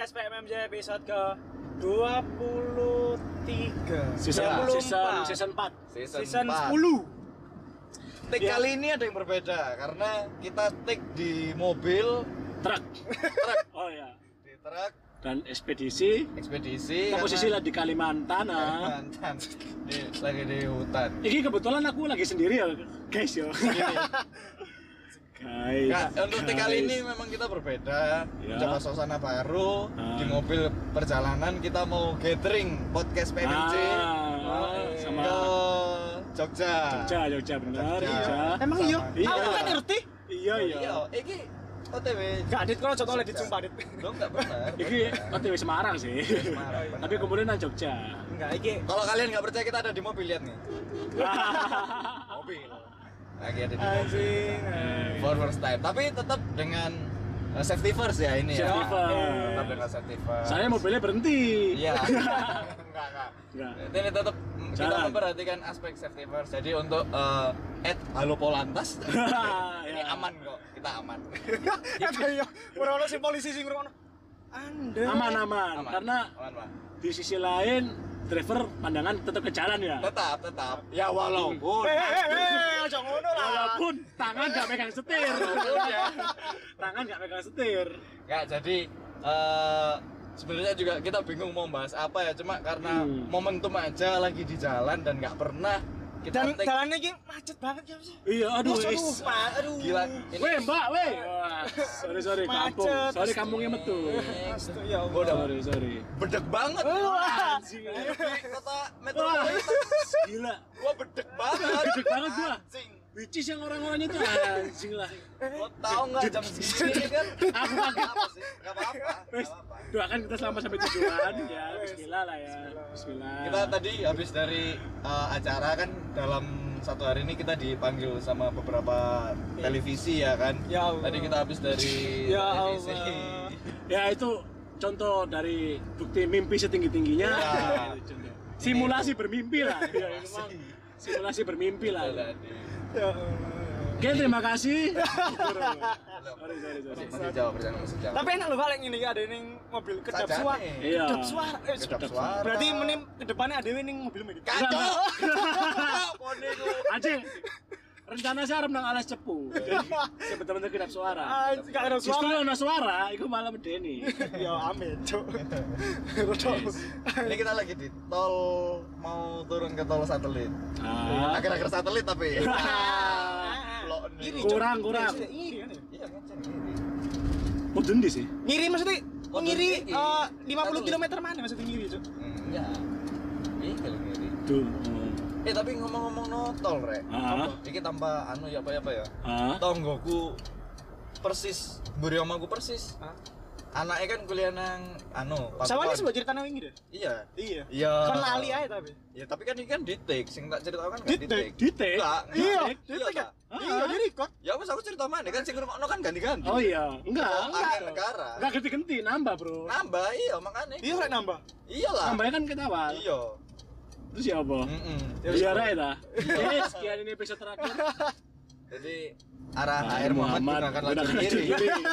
podcast PMMJ episode ke 23 Season 4 Season 10. Take kali ini ada yang berbeda karena kita take di mobil truk. Oh ya, di truk Dan ekspedisi kita posisi lah di Kalimantan. Lagi di hutan. Ini kebetulan aku lagi sendiri ya guys ya. Nah, untuk kali ini memang kita berbeda, coba suasana baru di mobil perjalanan kita mau gathering podcast PMMJ sama ke Jogja benar. Emang iya? Aku kan ngerti. Iya. Iki OTW. Gak adit kalau contoh di Sumpah adit. Dong enggak benar. Iki OTW Semarang sih. Semarang. Tapi kemudian nang Jogja. Enggak, iki. Kalau kalian nggak percaya kita ada di mobil, lihat nih. Mobil. Lagi ada di mobil. For first time. Tapi tetap dengan safety first ya ini ya. Safety first. Tetap dengan safety first. Saya mobilnya berhenti. Iya. Enggak. Ini tetap kita memperhatikan aspek safety first. Jadi untuk Halo Polantas ini aman kok. Kita aman. Iya. Ora ono sing polisi sing ngrungokno. Anda Aman. Karena Aman, Pak. di sisi lain driver pandangan tetap ke jalan ya. Tetap. Ya walaupun aja ngono lah. Walaupun tangan nggak megang setir. Tangan nggak megang setir. Ya, jadi sebenarnya juga kita bingung mau bahas apa ya, cuma karena momentum aja lagi di jalan dan nggak pernah kita Dan jalannya iki macet banget ya sih. Iya, aduh. Aduh. Gila. Weh, Mbak, weh. Wah, sorry kampung. Macet. Sorry kampungnya metu. Ya Gua udah Sorry. bedek banget. Anjing. Ayo di kota Wah, metropolitan. gila. Gua bedek banget. Bedek banget gua. Anjing. Which is yang orang-orangnya tuh anjing lah. Lo tau nggak jam segini kan? Aku kaget. Apa sih? Gak apa-apa. Wes, doakan kita selamat sampai tujuan ya. Bismillah lah ya. Bismillah. Kita tadi habis dari acara kan, dalam satu hari ini kita dipanggil sama beberapa televisi ya kan. Ya Allah. Tadi kita habis dari Ya televisi. Allah. Ya itu contoh dari bukti mimpi setinggi-tingginya. Ya. Itu contoh. Simulasi bermimpi lah. Ya, memang simulasi bermimpi lah. Ya. Oke, terima kasih. Sorry. Masih jauh, perjalanan masih jauh. Tapi enak loh Pak ini ada ning mobil kedap Sajane. suara. Iya. Kedap suara. Kedap suara. Berarti menim ke depannya ada ning mobil ini. Kacau. Pone ku. Anjing. Rencana saya arep nang alas cepu. Jadi bener-bener kedap suara. Gak ada Justru suara. ono suara, iku malah medeni. Ya amin, Cuk. Ini kita lagi di tol, mau turun ke tol satelit. Akhir-akhir satelit tapi. Blok nih. Kurang. Iri kan ya? Iya, ngecek ini. Oh, dendi sih. Ngiri maksudnya Oh, ngiri ngiri. 50 km mana maksudnya ngiri, Cuk? Iya. Iya kali ngiri. Tuh. Tapi ngomong-ngomong notol, Rek. Iki tanpa ya apa ya? Tonggoku persis, mburi omaku persis. Anaknya kan kuliah nang Sama ini sebuah cerita nang wingi deh. Iya. Iya. Kan lali aja tapi. Ya tapi kan ini kan di take, sing tak ceritakan kan Di di take. take. Di take? Enggak. Iya, Take. di take kan? Ah. Iya, di record. Ya wes aku cerita mana kan sing ngrungokno kan ganti-ganti. Oh iya, enggak. Akhir negara. Enggak ganti-ganti, nambah, Bro. Nambah iya makanya. Iya, rek nambah. Iyalah. Nambahnya kan kita awal. Iya. Terus ya apa? Biar aja dah. Oke, sekian ini episode terakhir. Jadi arah air Muhammad gunakan lagi kiri.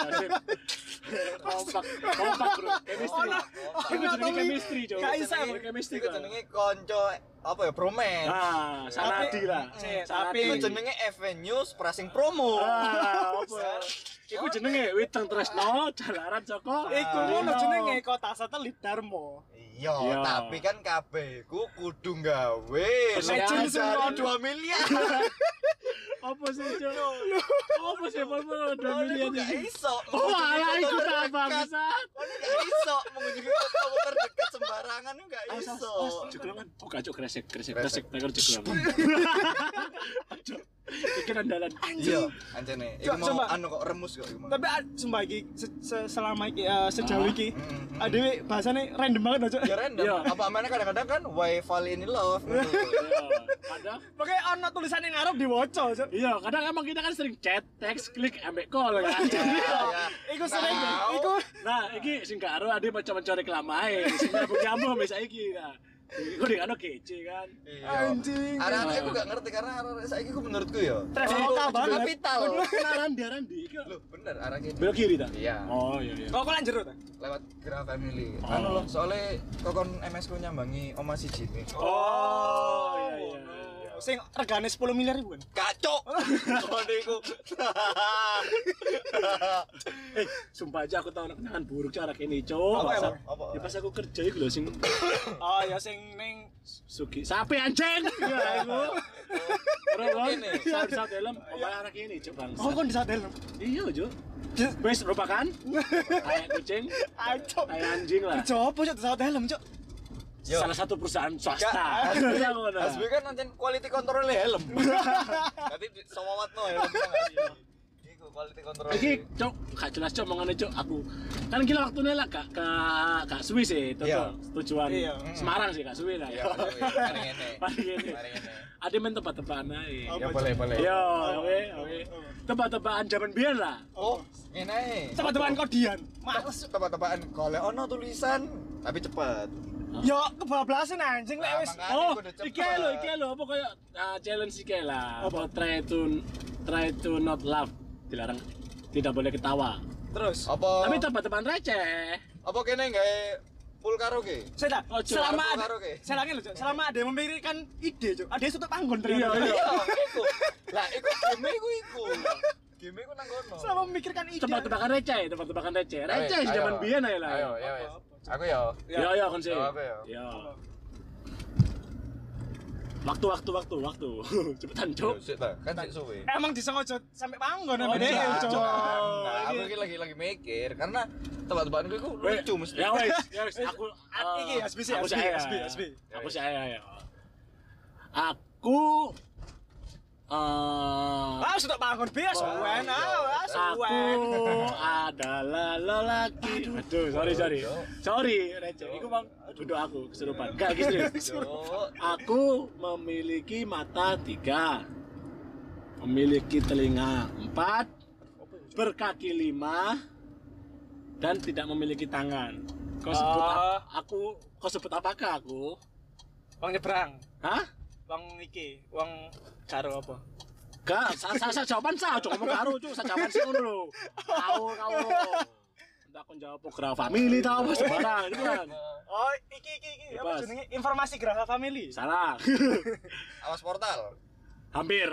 Kompak bro, chemistry. Itu jenenge chemistry, Cok. Gak bisa, chemistry. Itu jenenge konco apa ya, bromance. Sanadi lah. Tapi Itu jenenge Avenues pricing promo. Apa? Iku jenenge Witeng Tresno, Jalaran Joko. iku ngono jenenge kota satelit Darmo. Iya, Iya. tapi kan kabeh ku kudu gawe Legend semua 2 miliar. Apa sih, Cok? Apa sih pol-pol 2 miliar Gak ini? iso. Oh, alah iku tak bangsat. Kok gak iso mengunjungi kota terdekat sembarangan gak iso. Jeglongan. Oh, kacau kresek takar jeglongan. Aduh. Iki andalan. Iya, ancene. Iku mau Coba. anu kok remus kok iku. Tapi sumpah iki selama iki sejauh iki adewe bahasane random banget aja. Ya random. Iya. Apa mana kadang-kadang kan why fall in love. Kadang Makanya ono tulisannya ngarep diwaca, Cuk. iya, kadang emang kita kan sering chat, text, klik, ambek call kan. Iku sering Nah. iku Nah, iki sing gak ero ade maca-maca reklame, sing nyambung-nyambung sampe saiki. Nah, Iku dik ano kece kan. Anjing. Anak-anak aku gak ngerti karena anak saiki ku menurutku ya. Traveloka banget. Kapital. Kenalan Randi iki. Loh, bener arah kene. Belok kiri ta? Iya. Oh iya iya. Kok lan jero ta? Lewat Gra Family. Oh. Anu loh, soalnya kokon MS ku nyambangi oma siji nih. Oh iya iya. Sing regane 10 miliar ribuan. Kacok. Kode iku. Sumpah aja aku tau kenangan buruk cara kene, Cok. Apa, Pas- apa? Apa? Ya pas aku kerja iku lho sing Oh ya sing ning Sugi. Sapi anjing. Ya iku. Terus kan Kene. saat dalam omahe arah kene, Cok, Bang. Oh kon di sadel. Iya, Cok. Wes lupakan. Kayak kucing, Ayo. kayak anjing lah. Coba cok di sadel, cok. Yo. Salah satu perusahaan swasta. Gak. Iya, ngono. Asbi kan nanti quality control helm. Nanti sewawatno helm. Iku quality control. Iki, Cok, gak jelas Cok omongane Cok aku. Kan gila waktunya lah gak suwi sih, Iya. tujuan Iya. Semarang sih gak suwi lah Ya, ya. mari ngene. Mari ngene. Mari ngene. Ada main tebak-tebakan ae. Ya boleh, boleh. Yo, oke, oke. Tebak-tebakan zaman biyen lah. Oh, ngene ae. Teman-teman kodian. Males. Tebak-tebakan golek ono tulisan tapi cepet. Yo kebablasan anjing lek Nah, wis. makanya Oh, kudu cepet. iki lho, apa kayak challenge iki lah. Apa try to not laugh. Dilarang tidak boleh ketawa. Terus. Apa? Tapi tebak-tebakan receh. Apa kene gawe full karaoke? Saya Oh, Cok, selama aku ada, karaoke. selangnya loh, Cok. Selama ada yang memikirkan ide, Cok. Ada yang sudah panggon Iya, ternyata. iya. Iku. Lah, iku game iku. Game iku nang kono. Selama memikirkan ide. Tebak-tebakan receh, tebak-tebakan receh. Receh Ayo, zaman ayo. biyen ae lah. Ayo, ayo. Aku ya. Yo yo kan sih. Oh, apa ya? Yo. Waktu. Cepetan, Cuk. Sik ta, kan sik suwe. Emang disengaja sampai panggon Oh, sama dia, enggak, Cok. Nah, aku iki lagi mikir karena tebak-tebakanku iku lucu mesti. Ya wes, aku Iki, SB sih, aku SB, saya. SB. Aku saya ya. Aku Ah, sudah panggon biasa. Wen, ah, aku suwen. adalah lelaki. Aduh, sorry. Sorry, receh. Iku Bang, duduk aku kesurupan. Enggak gitu. Cuk. Aku memiliki mata 3, memiliki telinga 4, berkaki 5, dan tidak memiliki tangan. Kau sebut kau sebut apakah aku? Wong nyebrang. Hah? Wong iki, wong karo apa? Gak, saya jawaban saya, cuma ngomong karo, cuk, saya jawaban sih ngono lho. Kau. Entah aku jawab program family tau apa sembarang itu kan. Oh, iki. Apa Bebas. jenenge? Informasi Graha Family. Salah. Awas portal. Hampir.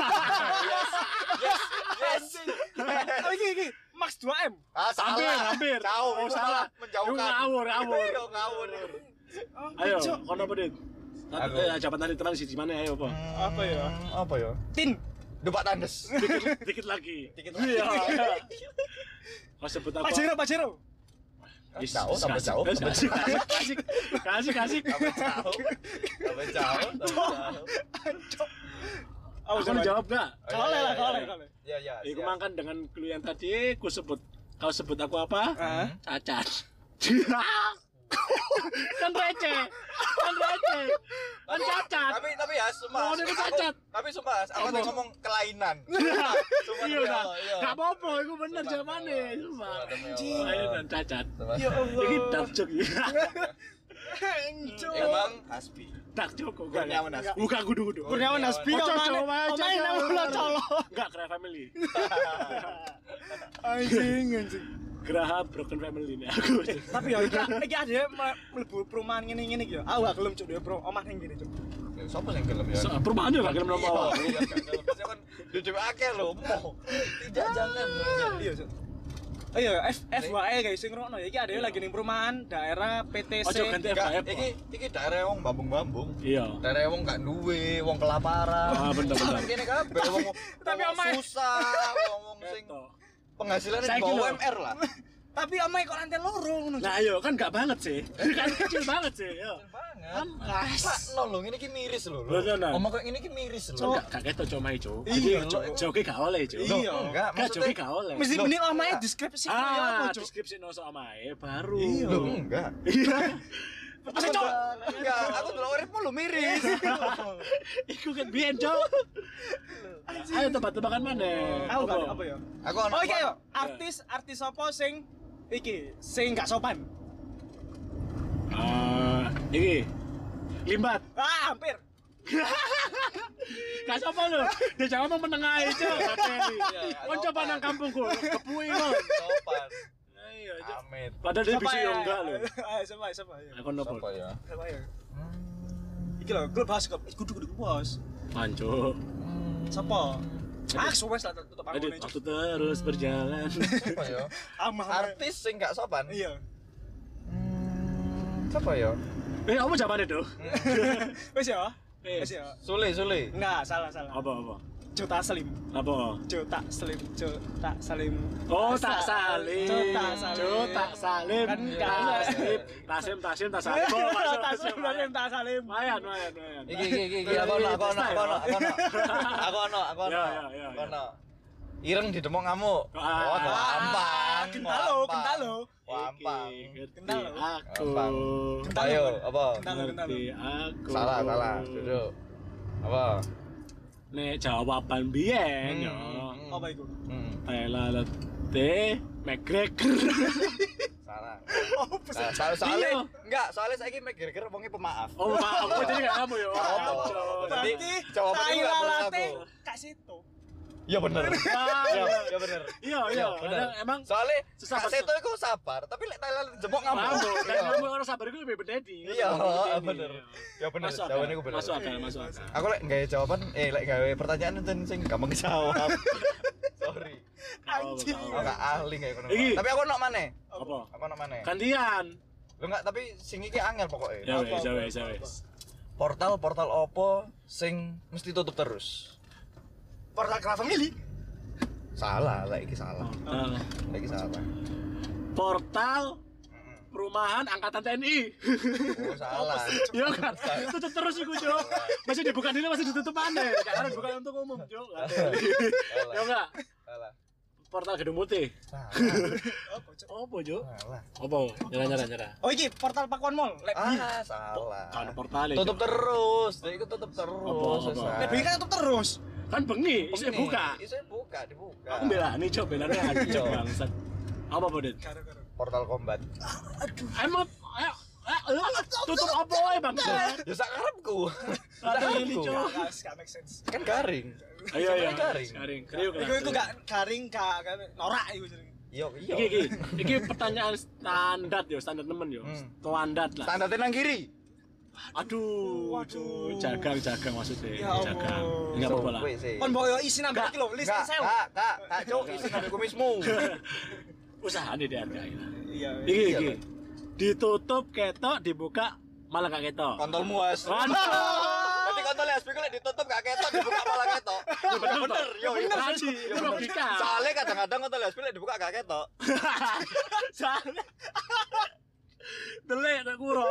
Yes. Oh, iki. Max 2M. Ah, salah. Hampir. Jauh, Oh, salah. Menjauhkan. Lu ngawur. Yo, ngawur. Oh, Ayo, Cok. kono apa, Dit? Aku. Jawaban tadi terang sih di mana ayo apa? Apa ya? Apa ya? Tin. Depak tandes. Dikit lagi. Dikit lagi. Iya. Kau sebut apa? Pak Jero. Jauh, tambah jauh. Kasih. Tambah jauh. Oh, Aku jawab gak? Koleh lah, koleh. Ya. Iku makan dengan clue yang tadi, kau sebut aku apa? Hah? Cacat. Kan receh. Kan cacat. Tapi ya sumpah. Oh, dia cacat. Tapi sumpah, aku tadi ngomong kelainan. Sumpah. Iya dah. Gak apa-apa, itu bener jawabannya. Sumpah. Anjing. Ayo dan cacat. Ya Allah. Ini dark joke ya. Anjing. Emang Hasbi. Dark joke kok. Kurniawan Hasbi. Bukan gudu-gudu. Kurniawan Hasbi Oh, kok cocok, mana? cocok. Main ulah colok. Enggak, Graha Family. Anjing. Graha Broken Family ini aku. Tapi ya iki ada mlebu perumahan ngene-ngene iki ya. Aku gak gelem cuk dhewe omah ning kene cuk. Sopo sing gelem ya? Perumahan juga gelem nomor awal. Iya, kan. Kan duduk akeh lho, mo. Tidak jangan. Iya cuk. Ayo FYI guys sing ngrungokno ya iki ada lagi ning perumahan daerah PTC. Ojo ganti Enggak, FKF. iki daerah wong bambung-bambung. Iya. Daerah wong gak duwe, wong kelaparan. Ah, bener. Kene kabeh wong Tapi wong omae- susah, wong sing Betul. penghasilannya di Saiki bawah lho. UMR lah. Tapi omahe kok lantai loro ngono. Nah, ayo kan enggak banget sih. Kan kecil banget sih, yo. Banget. Kan Pak, no lho, ngene iki miris lho. Lho, nah. Omong kok ngene iki miris lho. Enggak kaget to cuma itu. Iya, Jadi joke gak oleh, Cuk. Iya. Enggak, Enggak joke maksudnya gak oleh. Mesti Loh, mending omahe enggak. deskripsi kaya apa cuk. Deskripsi no so omae baru. Iya. Lho, enggak. Iya. Masa cuk. Enggak, aku delok uripmu lho miris. Iku kan biyen, Cuk. Ayo tebak-tebakan mana? Aku gak apa ya? Aku Oh iki yo, artis apa sing iki sing gak sopan. Iki Limbat. Hampir. Gak sopo lho. Dia Jawa mau menengah aja kateni. Kon coba nang kampungku, kepuing kon. Sopan. Iya, Cuk. Amit. Padahal dia bisa yo enggak lho. Ayo siapa ya? Aku nopo. Siapa ya? Siapa ya? Iki lho, klub bahas klub. Kudu bos. Pancuk. Siapa? Wes lah tutup Jadi panggung waktu terus berjalan. Siapa ya? Amah. Artis sing gak sopan. Iya. Siapa ya? Kamu jawabannya tuh. Wes ya? Wes ya. Sule. Enggak, salah. Apa? Jota Slim. Apa? Jota Salim. Oh, tak salim. Jota Salim. Kan Tasim, tak salim. Tak Salim. Lumayan. Iki aku ono. Ireng di demok ngamuk. Oh, gampang. Kental lo. Gampang. Kental lo. Aku. Ayo, apa? Kental lo. Aku. Salah. Duduk. Apa? Nek jawaban biyen yo. Apa itu? Telate McGregor. Salah. Oh, Soalnya enggak, soalnya saiki McGregor wonge pemaaf. Oh, maaf. Oh, jadi gak kamu yo. Jadi jawaban itu enggak perlu aku. Kak Sito. Iya bener. Iya bener. Iya. Emang Soalnya susah Kak Seto itu sabar, tapi lek Thailand jempok ngamuk. Dan kamu orang sabar itu lebih bededi. Iya, bener. Ya bener, jawabannya aku bener. Masuk akal. Aku lek gawe jawaban, lek gawe pertanyaan sing gampang dijawab. Sorry. Anjing. Aku gak ahli kayak ngono. Iki. Tapi aku ono maneh. Apa? Aku ono maneh. Gantian. Lho enggak, tapi sing iki angel pokoknya. Ya wes. Portal opo sing mesti tutup terus? Portal Kera Family. Salah, lek iki salah. Lek iki salah. Portal perumahan angkatan TNI. Oh, salah. Iya kan? Tutup terus iku, Cuk. Masih dibuka dulu masih ditutup maneh. Karena bukan untuk umum, Cuk. Ya enggak? Salah. Portal Gedung Putih. Salah. Apa, Cuk? Salah. Apa? Nyerah. Oh iki Portal Pakuan Mall. Salah. Kan portal Tutup terus. Jadi itu tutup terus. Apa? Lek kan tutup terus. Kan bengi, isih buka. Isih dibuka. Aku belani, Cuk, belani aja bangsat. Apa, Bodet? Portal combat. Emang tutup apa wae, bangsat? Ya sak karepku. Rada ini, Cuk. Gak make sense. Kan garing. Ayo. Garing. Kriuk lah. Iku gak garing gak norak iku jenenge. Iya. Iki pertanyaan standar nemen yo. Standar lah. Standarnya nang kiri. Aduh, jagang maksudnya. Ya Jagang. Allah. Enggak apa-apa lah. Kon bawa yo isi nambah iki lho, list sewu. Kak, Cuk, isi nang kumismu. Usaha nih dihargai lah. Iya. Iki. Ditutup ketok, dibuka malah gak ketok. Kontolmu as. Nanti kontolnya as lek ditutup gak ketok, dibuka malah ketok. Bener. Yo, Tadi logika. soalnya kadang-kadang kontolnya as lek dibuka gak ketok. Soalnya delek nak kuro.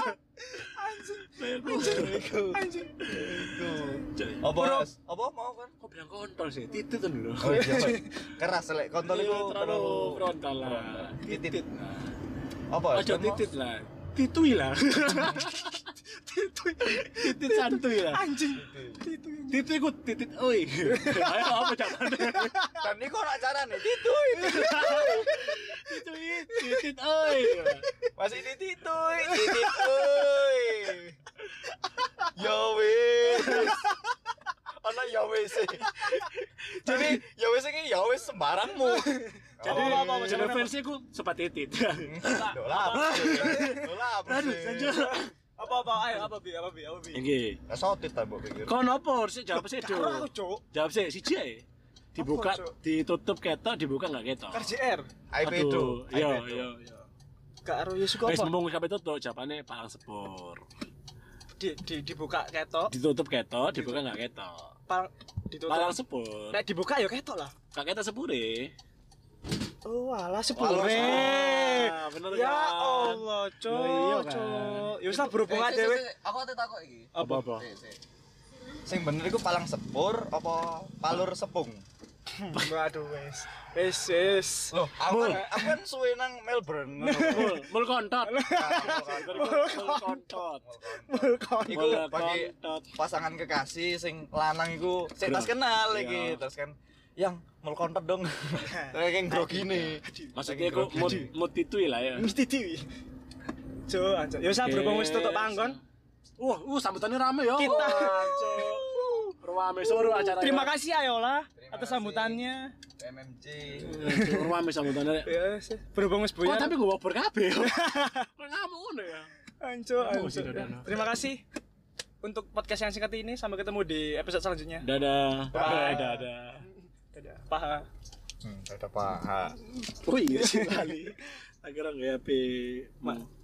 Anjing. Apa? Apa mau kan? Kok bilang kontol sih? Titit kan dulu. Oh iya. Keras lek kontol itu terlalu frontal lah. titit. Apa? Aja titit lah. Titui lah. Titit santuy lah. Anjing. Titit ikut titit oi. Ayo apa caranya? Dan ini kok nak carane titui. Titit oi. Masih dititui. Yo wis. Ana ya wis. Jadi ya wis iki ya wis sembarangmu. Jadi jadi versi ku sobat titit. Dolah. Aduh, lanjut. Apa bi? Iki. Sotit ta mbok pikir. Kon opo sih jawab sih, Do? Karo aku, Cuk. Jawab sih siji ae. Dibuka, Apa, Cuk? ditutup ketok, dibuka enggak ketok. KJR. IP itu. Iya. Karo ya suka Wis apa? mumpung kabeh tutup, jawabane palang sepur. Dibuka ketok, Ditutup ketok, dibuka enggak ketok. ditutup. Palang sepur. Nek dibuka ya ketok lah. Enggak ketok sepure. Oh, alah Walah, 10. Ah, bener Ya kan? Allah, Iya Cuk, kan? Cuk. Ya wis lah berhubungan dhewe. Aku ate takok iki. Apa? Sing bener iku palang sepur apa palur sepung? Waduh wis. Loh, aku kan suwe nang Melbourne. Mul kontot. Mul kontot. Iku bagi pasangan kekasih sing lanang iku sik tas kenal iki, terus kan yang mul kontot dong. Kayak grogine. Maksudnya aku mood itu lah ya. Mesti diwi. Cuk, anjir. Ya wis lah berhubung wis tutup panggon. Sambutannya rame ya. Kita. Rame seluruh acara. Terima kasih Ayola Terima atas kasih. sambutannya. MMC. Rame sambutannya. Ya, berhubung wis buyar. Tapi gue baper kabeh. Kok ngamuk ngono ya. Anco. Terima kasih untuk podcast yang singkat ini. Sampai ketemu di episode selanjutnya. Dadah. Bye. Dadah. Paha. Ada paha. Oh iya sih kali. Akhirnya nggak HP.